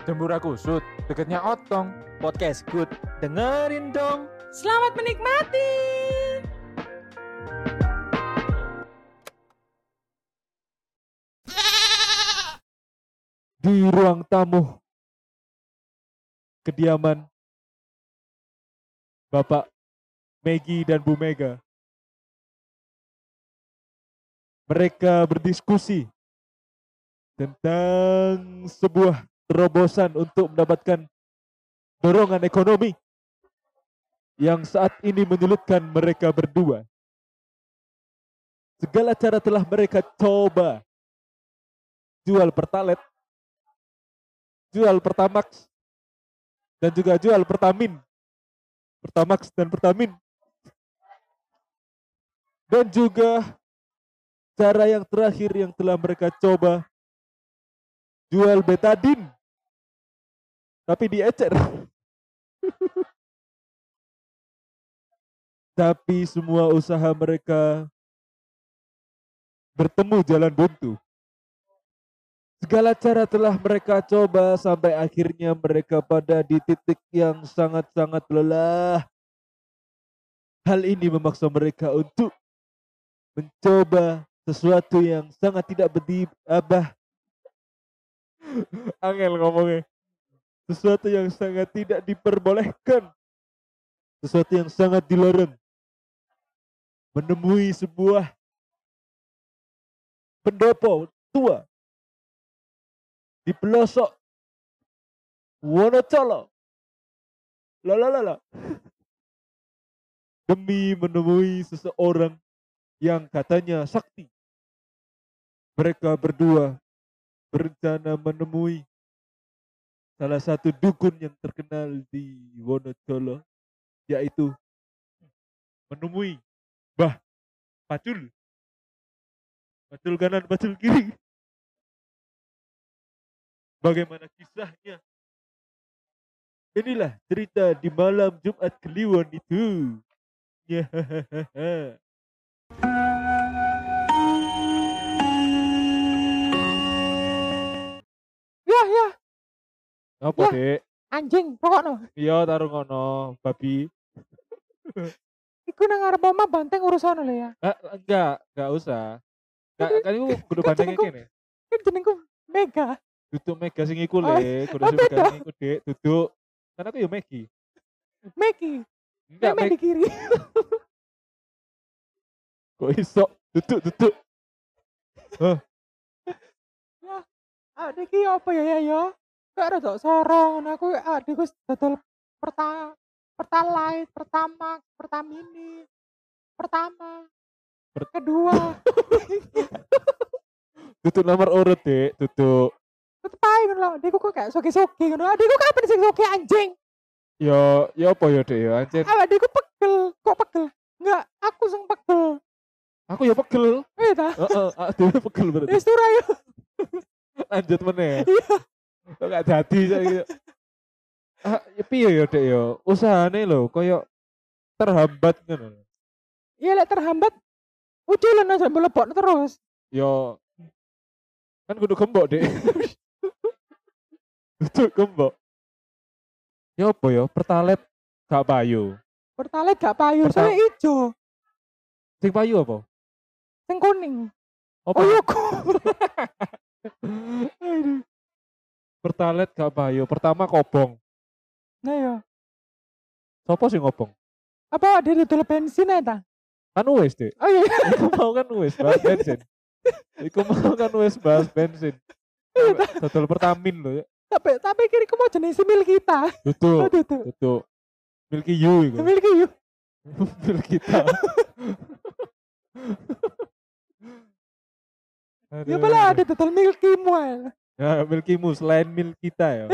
Dembura Kusut, deketnya Otong. Podcast Good. Dengerin dong. Selamat menikmati. Di ruang tamu kediaman Bapak Megi dan Bu Mega. Mereka berdiskusi tentang sebuah terobosan untuk mendapatkan dorongan ekonomi yang saat ini menyulitkan mereka berdua. Segala cara telah mereka coba. Jual Pertalite, jual Pertamax, dan juga jual Pertamin. Pertamax dan Pertamin. Dan juga cara yang terakhir yang telah mereka coba, jual betadin. Tapi diecer. Tapi semua usaha mereka bertemu jalan buntu. Segala cara telah mereka coba sampai akhirnya mereka pada di titik yang sangat-sangat lelah. Hal ini memaksa mereka untuk mencoba sesuatu yang sangat tidak berdiabah. Angel ngomongnya. Sesuatu yang sangat tidak diperbolehkan. Sesuatu yang sangat dilarang. Menemui sebuah pendopo tua di pelosok Wonocolo. Lalalala. Demi menemui seseorang yang katanya sakti. Mereka berdua berencana menemui salah satu dukun yang terkenal di Wonocolo, yaitu menemui Mbah Pacul. Pacul kanan, Pacul kiri. Bagaimana kisahnya? Inilah cerita di malam Jumat Kliwon itu. Ya. Ya, Apa, Ya. Dek? anjing, pokoknya. Iya, taruh ngono, babi. Iku nang ngarep omah banteng urusan lho ya. Enggak usah. Enggak, kan iku kudu Kan bandengnya jenengku- kene. Kan jenengku Mega. Duduk Mega sing iku Oh, le, kudu oh, sing beda. Mega sing iku, Dek. Duduk. Kan aku ya Megi. Megi. Enggak, Meme di kiri. Kok iso? Duduk. Adik iki apa ya? Gak ada tok sorong. Aku adikku dodol Pertalite, Pertamax, Pertamini, Pertama, kedua. Duduk nomor urut, Dek. Duduk. Tetep ae ngono lho. Adikku kok kayak soge-soge ngono. Adikku kapan sing soge anjing? Ya apa ya, Dek ya, anjir. Adikku pegel. Kok pegel? Enggak, aku sing pegel. Aku ya pegel. Eh ta? Heeh, dhewe pegel berarti. Wis tur ayo. Lanjut meneh. Iya. Kok gak dadi saiki. Ya piye ya, Dek ya? Usahane lho koyo terhambat ngono. Iya lek terhambat uculan aja mlebokno terus. Ya kan kudu gembok, Dek. Kudu gembok. Ya apa ya? Pertalite gak payu. Pertalite gak payu, soalnya ijo, Sing payu apa? sing kuning. Apa? Oh iya ku. Aduh. Pertalite gak payu. Pertama kobong. Nah ya. Sopo sing ngobong? Apa dia dodol bensin ae ta? Kan wis, Dek. Oh iya. Iku mau kan wis bahas bensin. Iku mau kan wis bahas bensin. Total Pertamin lho ya. Tapi kiriku mau jenis mil kita. Tutup. Aduh tuh. Tutup. Milky You iku. Mil yuk. Mil kita. Ya pala ada dodol milki mual. Ya Milkimu selain mil kita ya.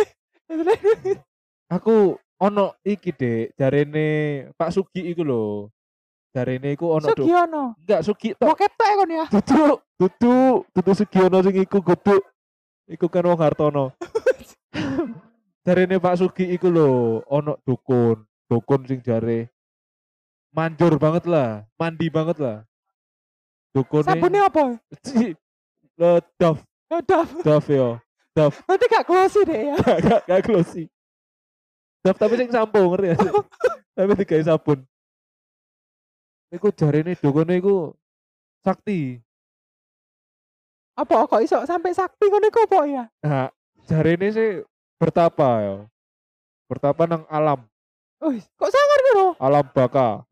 Aku ono iki, Dek, jarene Pak Sugi iku lho. Jarene iku ono do. Sugiono. Enggak Sugi tok. Bokep tok kon ya. Duduk Sugiono sing iku godhok. Iku kan wong Hartono. Jarene Pak Sugi iku lho, ono dukun sing jare manjur banget lah, mandi banget lah. Dukune Sabune apa? Dove Daf. ya. Daf, Nanti gak close deh ya. gak glossy. Daf tapi sing sampo ngerti ya. Tapi digawe sabun. Iku jarine dukune iku sakti. Apa kok iso sampai sakti ngono iku apa ya? Nah, jarine sih bertapa ya. Bertapa nang alam, Wih, kok sangar ngono? alam baka.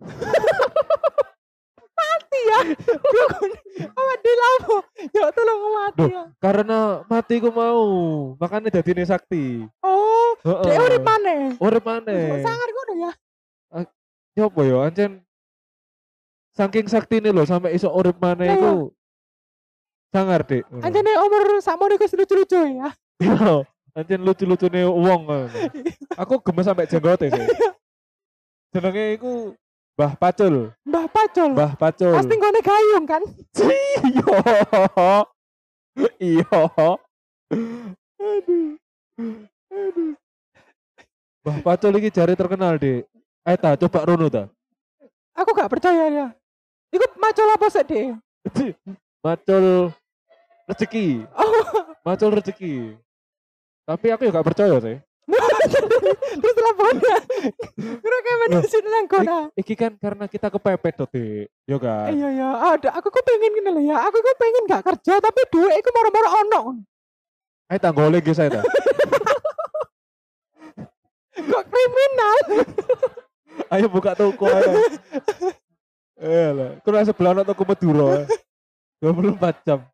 Mati ya. Dukun. Awak dilapo. Ya tolong mati Duh. ya. Karena mati ku mau, makanya dadine sakti. Oh, Heeh. dia urip maneh. Urip Kok maneh. sangar ngono ya? Ya apa ya, ancen saking saktine lho sampai iso urip maneh Lah, iku sangar, Dik. Anjene umur sakmono iku lucu-lucu ya. Iya, ancen lucu-lucune wong ngono. Aku gemes sampai jenggote sih. Jenenge iku Mbah Pacul. Mbah Pacul. Mbah Pacul. Pasti nggone gayung kan? Iya. Iya. Aduh. Aduh. Mbah Pacul iki jare terkenal, Dik. Ayo ta coba rono ta. Aku gak percaya ya. Iku macul apa sih, Dek? Macul rezeki. Oh, Macul rezeki. Tapi aku juga gak percaya sih. terus teleponnya. Kira kayak mana sih nang kono? Iki kan karena kita kepepet tuh, Dik. Yo kan. Iya ya, ada. Aku kok pengen gini loh ya. Aku kok pengen gak kerja tapi duit iku moro-moro ono. Ayo ta golek guys saya ta. Kok kriminal? Ayo buka toko ayo. Lah, kurang sebelah ono toko Madura. 24 jam.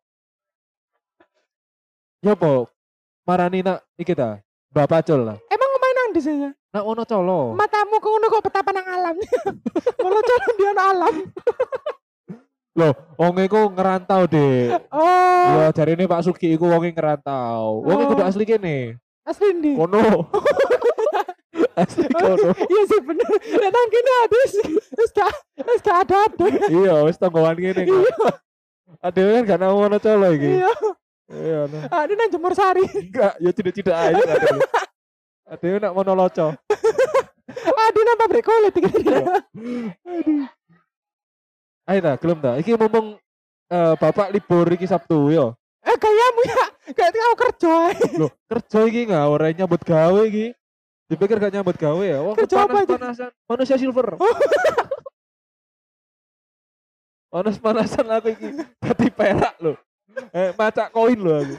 Ya po, marani nak iki ta. Mbah Pacul lah. Emang main nang di sini? Nak ono colo. Matamu kok ngono kok betapa nang alam. Kalau jalan dia nang alam. Loh, wong iku ngerantau, Dik. Oh, Ya jarine Pak Sugi iku wonge ngerantau. Wong iku Oh. kudu asli kene. asli ndi? Kono. Asli kono. Iya sih bener. Nek nang kene habis. Wis gak ada. Iya, wis tonggoan kene kok. Ada kan gak nang ono colo iki. Iya. Iya, nah. Ada nang Jemur Sari. Enggak, ya tidak aja ada. Ada yang nak mono loco. Ada nang pabrik kulit iki. Aduh. Ayo ta, gelem ta. Iki mumpung Bapak libur iki Sabtu yo. Gayamu ya. Kayak kau kerja. Loh, kerja iki ngawur nyambut gawe iki. Dipikir gak nyambut gawe ya. Wong Kerja apa aja? panas-panasan. Manusia silver. Panas-panasan aku iki. Dadi perak lho. Macak koin lho aku.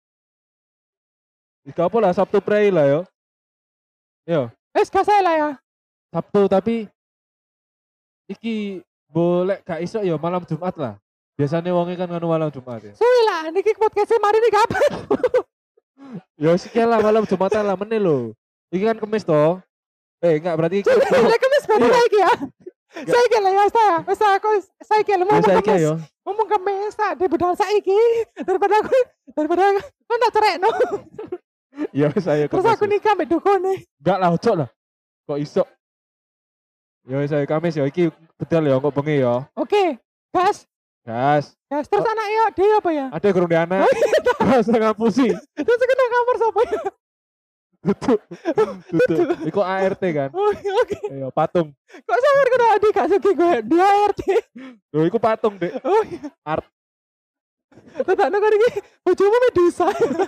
Iki apa lah Sabtu prei lah yo. Yo, Wis gak salah ya. Sabtu tapi iki boleh gak iso ya malam Jumat lah. Biasanya wonge kan nganu malam Jumat ya. Suwi lah niki podcast mari ini kapan? Ya sikil lah malam Jumat lah meneh lho. Iki kan Kamis toh. Enggak berarti iki. Lek kemis berarti Iya. saiki ya. Saiki lah ya saya. Wis aku saiki lah mau Biasa iki kemis. yo. Ngomong kemis tak di bedal saiki daripada kau tak cerekno. Ya wis ayo Terus Kamis. aku nikah mbek dukune. Enggak lah ojo lah. Kok iso? Ya wis ayo Kamis ya iki bedal ya kok bengi ya. Oke, gas. Gas. Gas terus anak yo dia apa ya? Ada gurung di anak. Gas tengah pusing. Terus kena kamar sapa ya? Tutup. Tutup. Iku ART kan. Oh, oke. Iya, patung. Kok sangar kena adik gak suki gue dia RT. Lho iku patung, Dek. Oh iya. Art. Tetakno kan iki bojomu Medusa.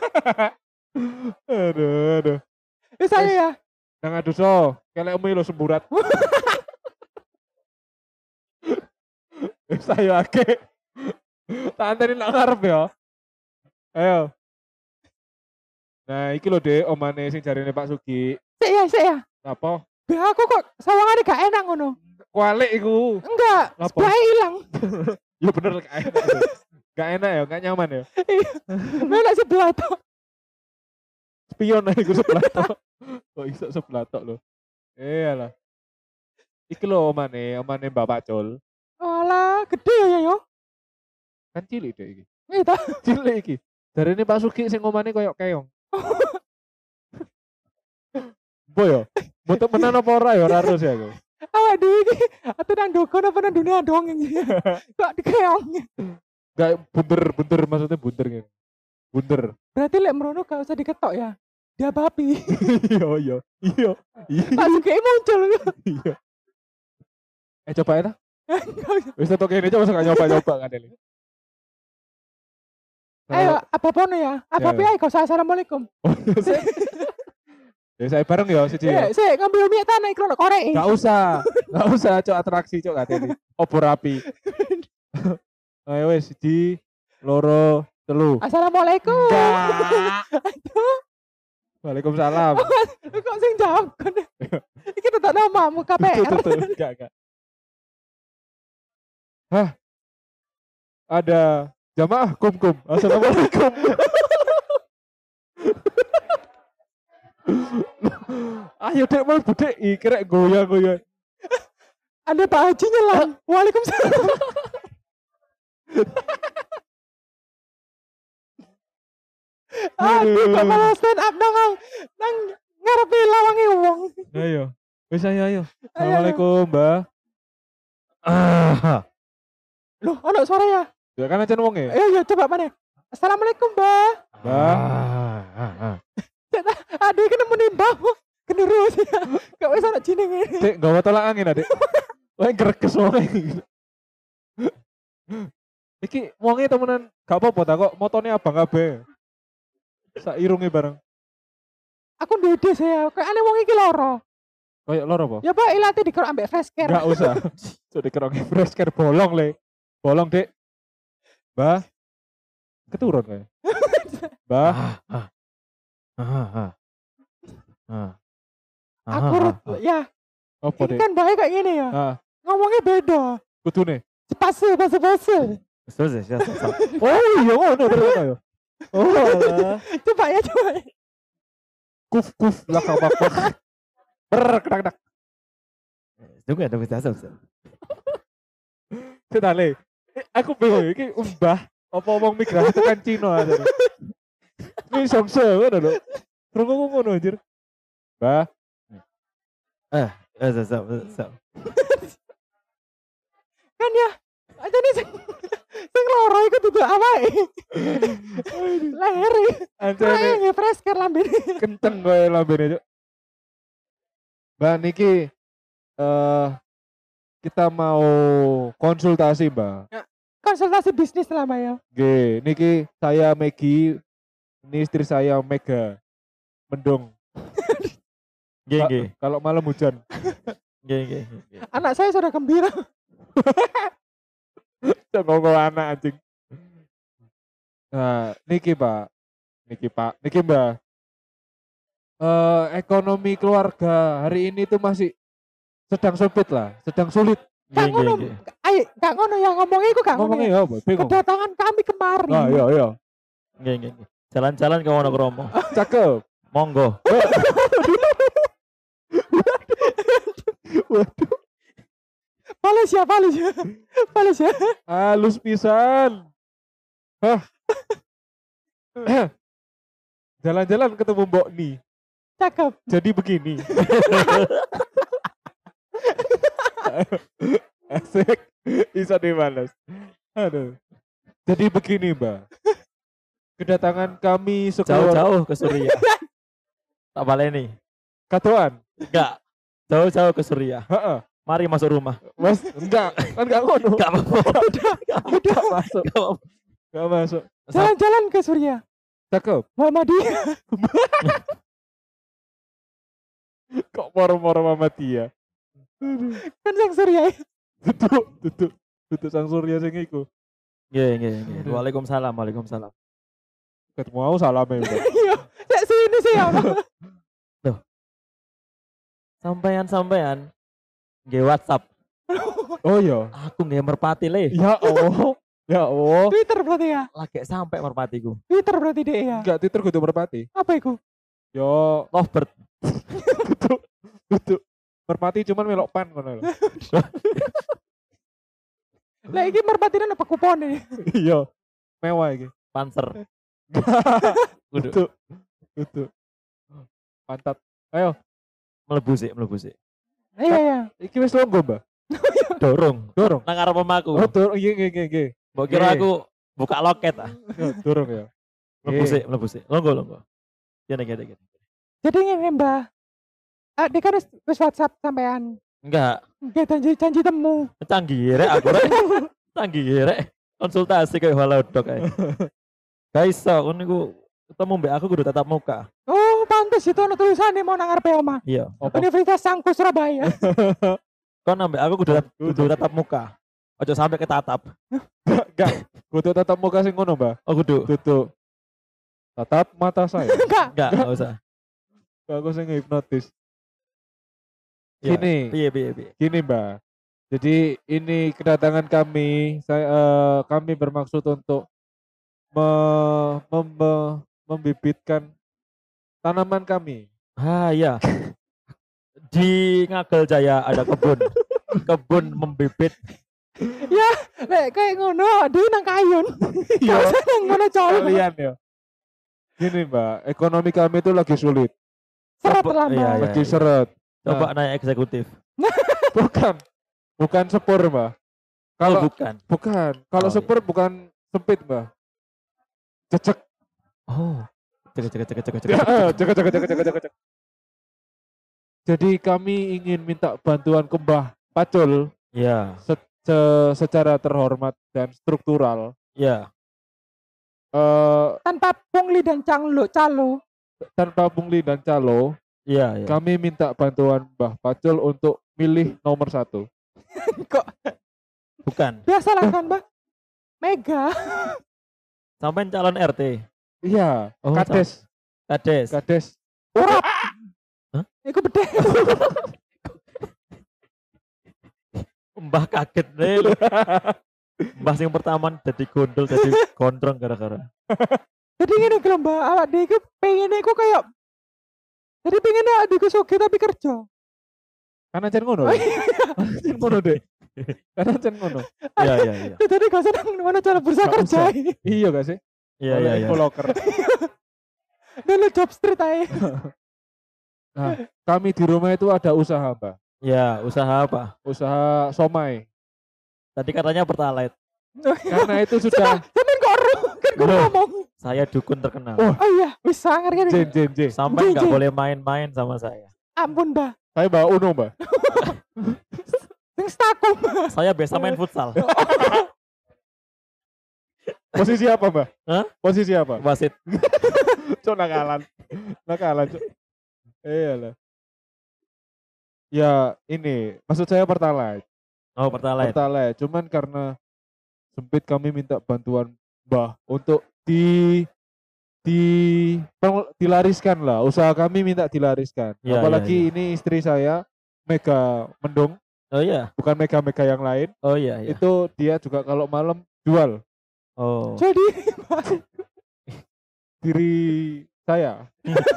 Aduh. Wis ayo ya. Nang adu so, kelekmu lho semburat. Wis ayo ake. Tak anteni nak ngarep ya. Ayo. Nah, iki lho Dek, omane sing jarine Pak Sugi. Sik ya. Apa? Be aku kok sawangane gak enak ngono. Kualik iku. Enggak, Apa? sebelahnya hilang. Ya bener gak enak. Tuh. Gak enak ya, gak nyaman ya. Melek sebelah tuh. Spion aja gue sebelah tok. Kok iso sebelah tok lho. Iyalah. Iki lho omane Mbak Pacul. Alah, gede ya yo. Kan cilik Dek iki. Itu. Cilik iki. Jarine Pak Sugi sing omane koyo keong. Bo yo. Boten menan apa ora ya ora harus ya aku. Awak dhewe iki atuh nang dukun apa nang dunia dongeng iki. Kok dikeong. Gak bunter maksudnya bunter gitu. Bunter. Berarti lek merono gak usah diketok ya. Dia babi. Iya. Langsung kayak muncul. Iya. Coba ya ta. Wis tok kene coba gak nyoba kan ini. Ayo, apa pono ya? Apa Ya, piye kau assalamualaikum. Ya saya bareng ya siji ya. Sik ngambil mie tanah iku ono korek. Gak usah cok atraksi cok katene. Obor api. Ayo wes siji, loro, telu. Assalamualaikum. Enggak. Waalaikumsalam. Kok sing jawab kan? Iki tetep namamu KPR. Enggak. Hah? Ada jamaah kum. Assalamualaikum. Ayo dek mau budek kira goyang. Ada Pak Haji nyelam. Waalaikumsalam. Aduh, kok malah stand up nang ngarepe lawange wong. Ayo. Wis ayo. Assalamualaikum, Mbak. Loh, ono suara ya? Ya kan acan wong ya? Iya, coba mana? Assalamualaikum, Mbak. Mbak. Aduh, iki nemu mbah. Generus ya. Gak wis ono jenenge. Dek, gawa tolak angin adek. Wah, greges wonge. Iki wonge temenan gak apa-apa ta kok motone abang kabeh. Sak irunge bareng. Aku ndede saya. Kayak aneh wong iki loro. Kayak loro apa? Ya, Pak, ilate dikerok ambek fresh care. Enggak usah. Sudah dikerok fresh care bolong le. Bolong, Dek. Mbah. Keturun kayak. Mbah. Aku ya. Apa, Ini Dek? kan baik kayak gini ya. Ah, Ngomongnya beda. kudune. Pase. Oh iya ngono ternyata ya. Oh alah. Coba ya. Kuf belakang bakok. Kedak. Tunggu ya, tunggu saya. Kita le. Aku bingung iki mbah apa wong migrasi tekan Cina aja. Ini songse ngono lho. Krungu ngono anjir. Mbah, So. Kan ya. Aja nih sing loro iku dudu awake. Leher. anjane Kayak fresh care lambene. kenteng kowe lambene, Cuk. Mbak niki kita mau konsultasi, Mbak. Konsultasi bisnis lah, Mbak ya. Oke, niki saya Megi, ini istri saya Mega. Mendung. Nggih. Kalau malam hujan. Nggih. Anak saya sudah gembira. Ngomong anak anjing. Nah, niki Pak. Niki Mbak. Ekonomi keluarga hari ini tuh masih sedang sempit lah, sedang sulit. Gak ngono. Ayo, gak ngono ya ngomongnya iku gak ngono. Ngomongnya Ya. ya apa? Bingung. Kedatangan kami kemari. Ah, iya. Nggih. Jalan-jalan ke Wonokromo. Cakep. Monggo. Waduh, Balas ya. halus pisan. Hah. Jalan-jalan ketemu Mbok Ni. Cakep. Jadi begini. Asik. Bisa dibalas. Aduh. Jadi begini, Mbak. Kedatangan kami sekeluarga. Jauh-jauh ke Suriah. Tak baleni. Katoan. Enggak. Jauh-jauh ke Suriah. Heeh. Mari masuk rumah. Mas, enggak. Kan enggak ngono. Enggak apa-apa. Enggak masuk. Enggak apa-apa. Enggak masuk. Jalan-jalan ke Surya. Cakep. Muhammadiyah. Kok moro-moro Mama Tia. Kan sang Surya. Tutuk sang surya sing iku. Nggih. Waalaikumsalam. Ketemu aku salame. Mbak. Iya. Sek sini sih ya. Sampean nggih WhatsApp. Oh iya. Aku nggih merpati le. Ya Allah. Ya Allah. Twitter berarti ya. Lagi sampai merpatiku. Twitter berarti deh ya. Enggak Twitter kudu merpati. Apa itu? Yo, Lovebird. kudu merpati cuman melok pan ngono lho. Lah iki merpatinan apa kupon ini? Iya. Mewah iki. Panzer. Kudu. Pantat. Ayo, Mlebu sih. Iya. iki wis longgo, Mbak. Dorong. Dorong. Nang arep omahku. Oh, dorong. Iya. Mbok kira aku buka loket ah. Ya, dorong ya. Mlebu sih. Longgo. Gini. Jadi ini Mbak. Dia kan wis WhatsApp sampean. Enggak. Dia janji temu. Canggih rek aku rek. Canggih rek. Konsultasi kayak halodoc ae. Gak iso, kon niku ketemu mbak aku kudu tatap muka. Oh, pantes itu ono tulisane mau nang ngarepe omah. Iya. Universitas Sangku Surabaya. Kon ambek aku kudu tatap muka. Ojo sampai ketatap. Enggak. Kudu tatap muka sing ngono, Mbak. Oh kudu. Kudu tatap mata saya. Enggak. Enggak usah. Aku sing hipnotis. Iya. Gini. Piye. Gini, Mbak. Jadi ini kedatangan kami, kami bermaksud untuk membibitkan tanaman kami. Ah iya. Di Ngagel Jaya ada kebun membibit. Ya, lek kayak ngono, di nang kayun. Iya. Nang ngono colok. Kalian ya. Gini, Mbak, ekonomi kami itu lagi sulit, Seret Coba- lah, iya, Mbak. iya. lagi seret. Coba naik eksekutif. Bukan sepur, Mbak. Kalau Bukan. bukan, kalau Oh, iya. sepur bukan sempit, Mbak. Cecek. Oh. Cek. Cek. Jadi kami ingin minta bantuan ke Mbah Pacul Iya. secara terhormat dan struktural. Iya. Tanpa pungli dan calo. Tanpa pungli dan calo, Iya. kami minta bantuan Mbah Pacul untuk milih nomor 1. Kok Bukan. biasa lah kan, Mbak? Mega. Sampai calon RT. Iya, Oh, Kades. Kades. Urap. Hah? Iku bedhe. Mbah kaget deh. Mbah yang pertama jadi gondol, jadi gondrong gara-gara. Jadi ngene iki lho, Mbak, awak dhewe iku pengene iku kayak jadi pengennya adikku sugih tapi kerja. Karena ancen ngono. Ancen ngono deh. Karena ancen ngono. Iya. Jadi gak usah nang mana cara bursa Gak kerja. usah. Iya gak sih? Iya. Infoloker. Dan lu job street aja. Nah, kami di rumah itu ada usaha, Mbak. Ya, usaha apa? Usaha somai. Tadi katanya Pertalite. Karena itu sudah Sampeyan kok ero kan gue Loh. ngomong. Saya dukun terkenal. Oh. Oh iya, wis sangar kan. Jen. Sampai nggak Jeng. boleh main-main sama saya. Ampun, Mbak. Saya bawa Uno, Mbak. Sing stakum. Saya biasa main futsal. Posisi apa, Mbak? Hah? Posisi apa? Wasit. Cok nakalan. Cok. Iyalah. Ya, ini maksud saya Pertalite. Oh, Pertalite. Pertalite. Cuman karena sempit kami minta bantuan Mbah untuk dilariskan lah. Usaha kami minta dilariskan. Iya, Apalagi ini istri saya Mega Mendung, Oh iya. bukan Mega yang lain. Oh iya. Itu dia juga kalau malam jual Oh. Jadi diri saya.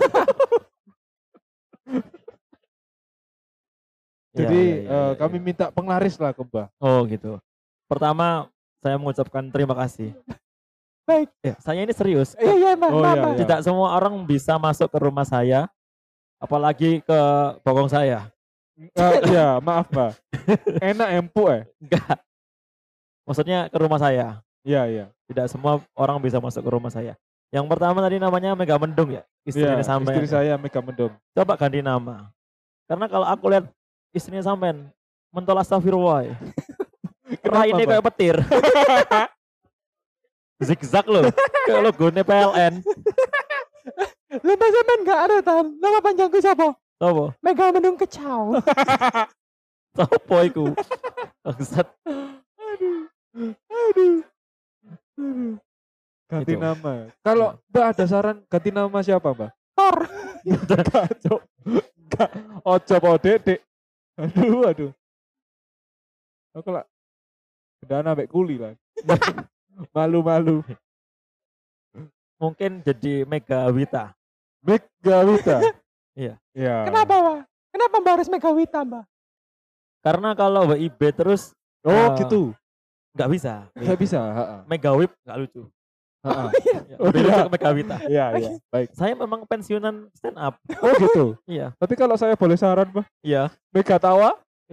Jadi Iya. kami minta penglaris lah ke Mbah. Oh gitu. Pertama saya mengucapkan terima kasih. baik. Saya ini serius. Iya, Mbak. Oh, Mbak, iya, Mbak. iya. Tidak semua orang bisa masuk ke rumah saya, apalagi ke bokong saya. Ya, maaf Mbak. Enak empuk Enggak. Maksudnya ke rumah saya. Iya. Tidak semua orang bisa masuk ke rumah saya. Yang pertama tadi namanya Mega Mendung ya, Iya, istrinya sampean. istri saya Mega Mendung. Coba ganti nama. Karena kalau aku lihat istrinya sampean mentol astagfirullah. Raine Mbak? kayak petir. Zigzag loh. Kayak logonya PLN. Lu Mbak sampean gak ada tan. Nama panjangku siapa? Apa? Mega Mendung Kecau. Sopo iku? Bangsat. Aduh. Ganti Itu. nama. Kalau Mbak ada saran ganti nama siapa Mbak? Tor. Enggak, Cok. Enggak. Ojo po Dedek. Aduh. Aku lah. Udah ambek kuli lah. Malu-malu. Mungkin jadi Mega Wita. Mega Wita. Iya. Iya. Kenapa, Mbak? Kenapa Mbak harus Mega Wita, Mbak? Karena kalau WIB terus Oh, gitu. nggak bisa. Enggak bisa, heeh. Mega Whip nggak lucu. Heeh. Ya, Oh, lebih iya. lucu ke Mega Wita. Iya. Baik. Saya memang pensiunan stand up. Oh, gitu. Iya. Tapi kalau saya boleh saran, Mbak, Iya. Mega Tawa?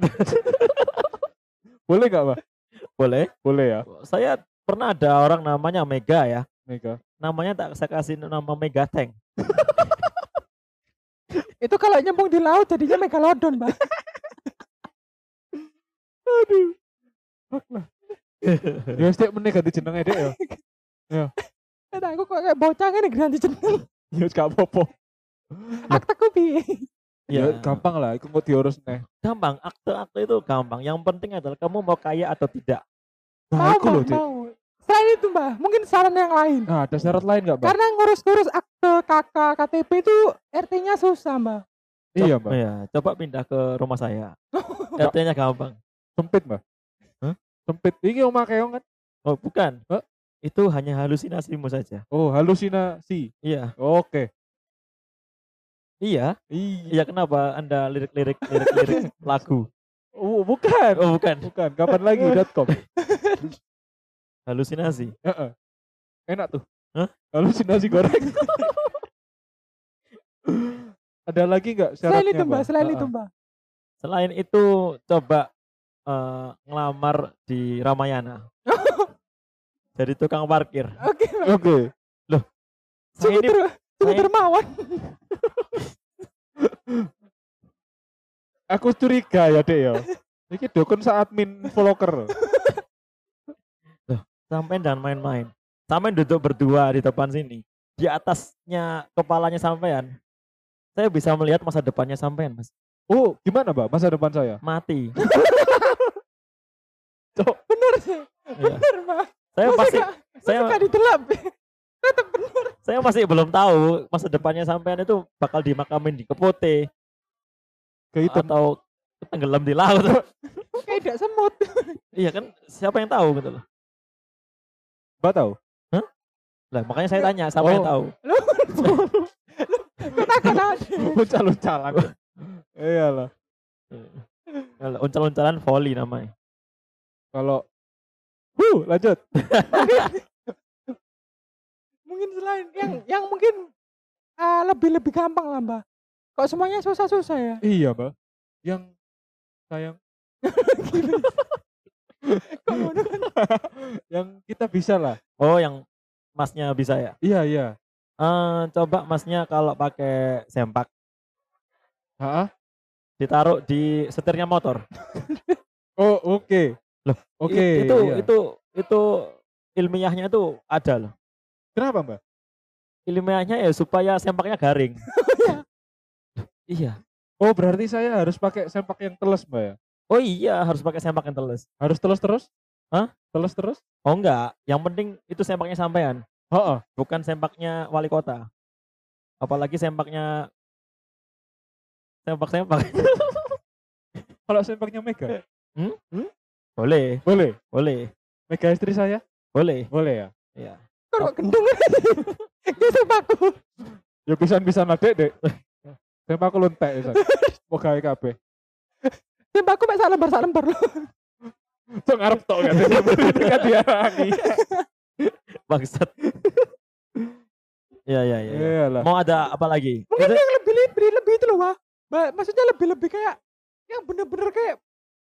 Boleh nggak, Mbak? Boleh. Boleh ya, Saya pernah ada orang namanya Mega ya. Mega. Namanya tak saya kasih nama Mega Tank. Itu kalau nyembung di laut jadinya Megalodon, Mbak. Aduh. Fuck lah. Ya setiap menit ganti jenenge Dek ya. Aku kok kayak bocah ngene ganti jeneng. Ya wis gak apa-apa. Akteku piye? Ya Ya, gampang lah, iku mau diurus neh. gampang. Akte-akte itu gampang. Yang penting adalah kamu mau kaya atau tidak. Nah, iku lho, Dik. mau. Selain itu Mbak, mungkin saran yang lain. Nah, ada syarat lain enggak, Mbak? Karena ngurus-ngurus akte KK KTP itu RT-nya susah Mbak. Iya, Mbak. Ya, coba pindah ke rumah saya. RT-nya gampang. Sempit, Mbak. Hah? Sempit. Iki omah keong kan? Oh, bukan. Hah? Itu hanya halusinasimu saja. Oh, halusinasi. Iya. Oke. Iya. Iya. Iya, kenapa Anda lirik lagu? Oh, bukan. Oh, bukan. Bukan. Kapan lagi.com. Halusinasi. Heeh. Enak tuh. Hah? Halusinasi goreng. Ada lagi enggak syaratnya, Selain itu Mbak, selain itu Heeh. Mbak. Selain itu coba ngelamar di Ramayana. Jadi tukang parkir. Oke Mbak. Oke. Saya ini Sungguh dermawan. Aku curiga ya, Dek ya. Iki dukun sa admin vlogger. sampai dan main-main. Sampai duduk berdua di depan sini. Di atasnya kepalanya sampean. Saya bisa melihat masa depannya sampean, Mas. Oh, gimana, Mbak? Masa depan saya? Mati. Bener sih. Iya. Bener Mbak. Saya masih Saya saya didelap. Tetap bener. saya masih belum tahu masa depannya sampean itu bakal dimakamin di Kepote Ke hitam. atau tenggelam di laut. Kayak tidak semut. Iya kan, siapa yang tahu gitu loh. Mbak tahu? Lah makanya saya tanya, siapa yang Oh. tahu? Katakan aja. Uncal-uncalan. Iyalah. Kalau uncal-uncalan volley namanya. Kalau lanjut. Mungkin selain yang mungkin lebih gampang lah Mbak. Kok semuanya susah-susah ya? Iya, Mbak. Yang sayang Kok ngono kan? yang kita bisa lah. Oh, yang masnya bisa ya? Iya, iya. Coba masnya kalau pakai sempak Heeh. ditaruh di setirnya motor. Oh, oke. Loh, Oke. itu iya. itu ilmiahnya itu ada loh. Kenapa, Mbak? Ilmiahnya ya supaya sempaknya garing. Iya. Oh, berarti saya harus pakai sempak yang teles, Mbak ya? Oh iya, harus pakai sempak yang teles. Harus teles terus? Hah? Teles terus? Oh enggak, yang penting itu sempaknya sampean, Heeh. bukan sempaknya wali kota. Apalagi sempaknya sempak-sempak. Kalau sempaknya Mega? Boleh, Boleh. boleh, Mega istri saya? boleh. Boleh ya? Iya. Kok gendeng. Gesek aku. Ya pisan-pisan adek, Dek. Sempakku luntek pisan. Mau gawe kabeh. Tembakku mek sak lembar loh. Sok ngarep tok kan. Kan diarani. Bangsat. Iya, iya, iya. Iya. Iyalah. Mau ada apa lagi? Mungkin Itu- yang lebih itu loh, Mbak. Maksudnya lebih kayak yang bener-bener kayak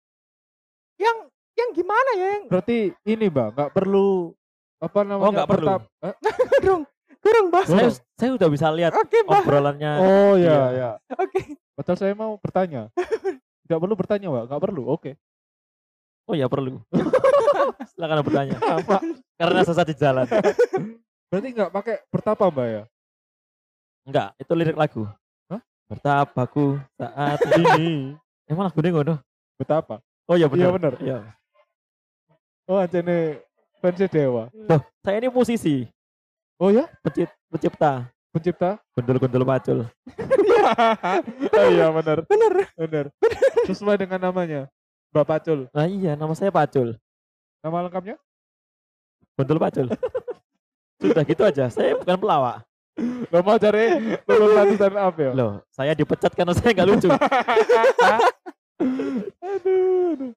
yang gimana ya yang Berarti ini, Mbak, enggak perlu apa namanya? Oh, nggak perlu. kurang Mbak. saya udah bisa lihat Oke, Mbak. obrolannya. Oh Iya. ya, ya. Oke. Betul, saya mau bertanya. Enggak perlu bertanya, Mbak. Enggak perlu. Oke. Oh ya perlu. Silakan bertanya. Apa? Karena sesat di jalan. Berarti enggak pakai bertapa, Mbak ya? Enggak, itu lirik lagu. Hah? Bertapaku saat ini. Emang lagu ini ngono? Betapa. Oh iya Iya benar. bener. Iya. Oh, anjene fans Dewa. Loh, saya ini musisi, Oh ya? pencipta, Pencipta? gundul-gundul pacul. Oh iya benar. Bener. Benar. Sesuai dengan namanya. Mbak Pacul. Nah iya, nama saya Pacul, Nama lengkapnya? gundul pacul. Sudah gitu aja, saya bukan pelawak. Lo mau cari lulusan stand up ya? Loh, saya dipecat karena saya nggak lucu. Aduh.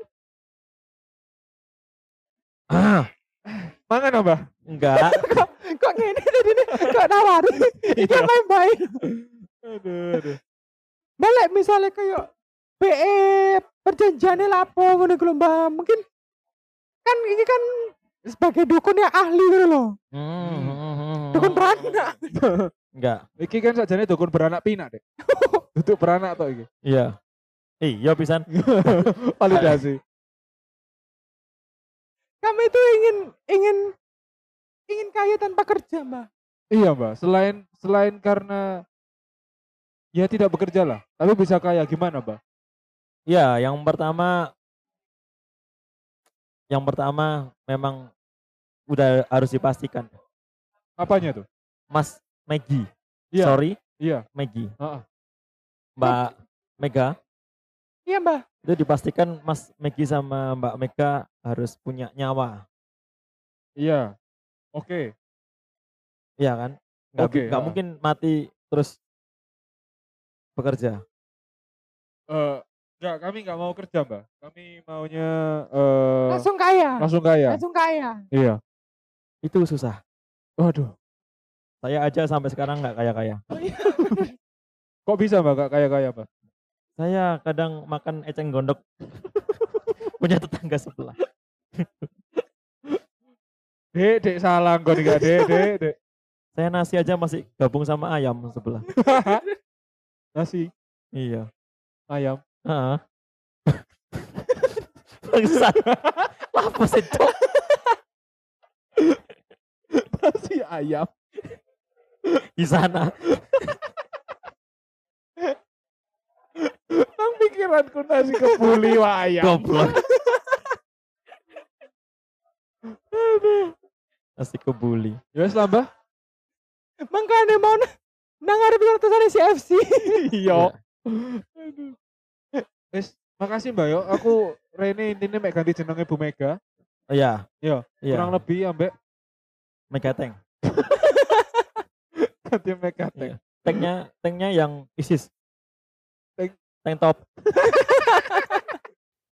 Ah, Mangan apa? enggak. Kok ngene tadi nih? Kok nawari? Iki main-main. Aduh. Balik misalnya kayak PE perjanjiannya lapo ngono ku lho, Mbak. Mungkin kan ini kan sebagai dukun yang ahli gitu loh. Dukun beranak. Enggak. Iki kan sajane dukun beranak pinak, Dek. Duduk beranak tok iki. Iya. Iya pisan. Validasi. Kami itu ingin ingin kaya tanpa kerja, Mbak. Iya, Mbak. Selain karena ya tidak bekerja lah, tapi bisa kaya gimana, Mbak? Ya, yang pertama memang udah harus dipastikan. Apanya tuh? Mas Maggie. Iya. Sorry, Iya. Maggie. Heeh. Mbak Mega. Iya, Mbak. Itu dipastikan Mas Maggie sama Mbak Mega harus punya nyawa. Iya. Oke. Iya kan? Oke, Nggak mungkin mati terus bekerja. Enggak, kami nggak mau kerja, Mbak. Kami maunya Langsung kaya. langsung kaya. Langsung kaya. Iya. Itu susah. Waduh. Saya aja sampai sekarang nggak kaya-kaya. Kok bisa, Mbak, nggak kaya-kaya, Mbak? Saya kadang makan eceng gondok punya tetangga sebelah. Dek salah kok enggak, Dek. Saya nasi aja masih gabung sama ayam sebelah. Nasi, Iya. ayam. Heeh. Bangsat. Apa sih, Cok? Nasi ayam. Di sana. Nang pikiranku nasi kebuli wa ayam. Goblok. Nasi kebuli. Ya wes lah, Mbak. Makanya mau nang arep utusan CFC. Iya. Aduh. Wes, makasih, Mbak yo. Aku Rene intinya mek ganti jenenge Bu Mega. Oh, iya. Iya, kurang lebih ambek Mega Tank. ganti Mega Tank. Tanknya yang ISIS. Tank. Tank top.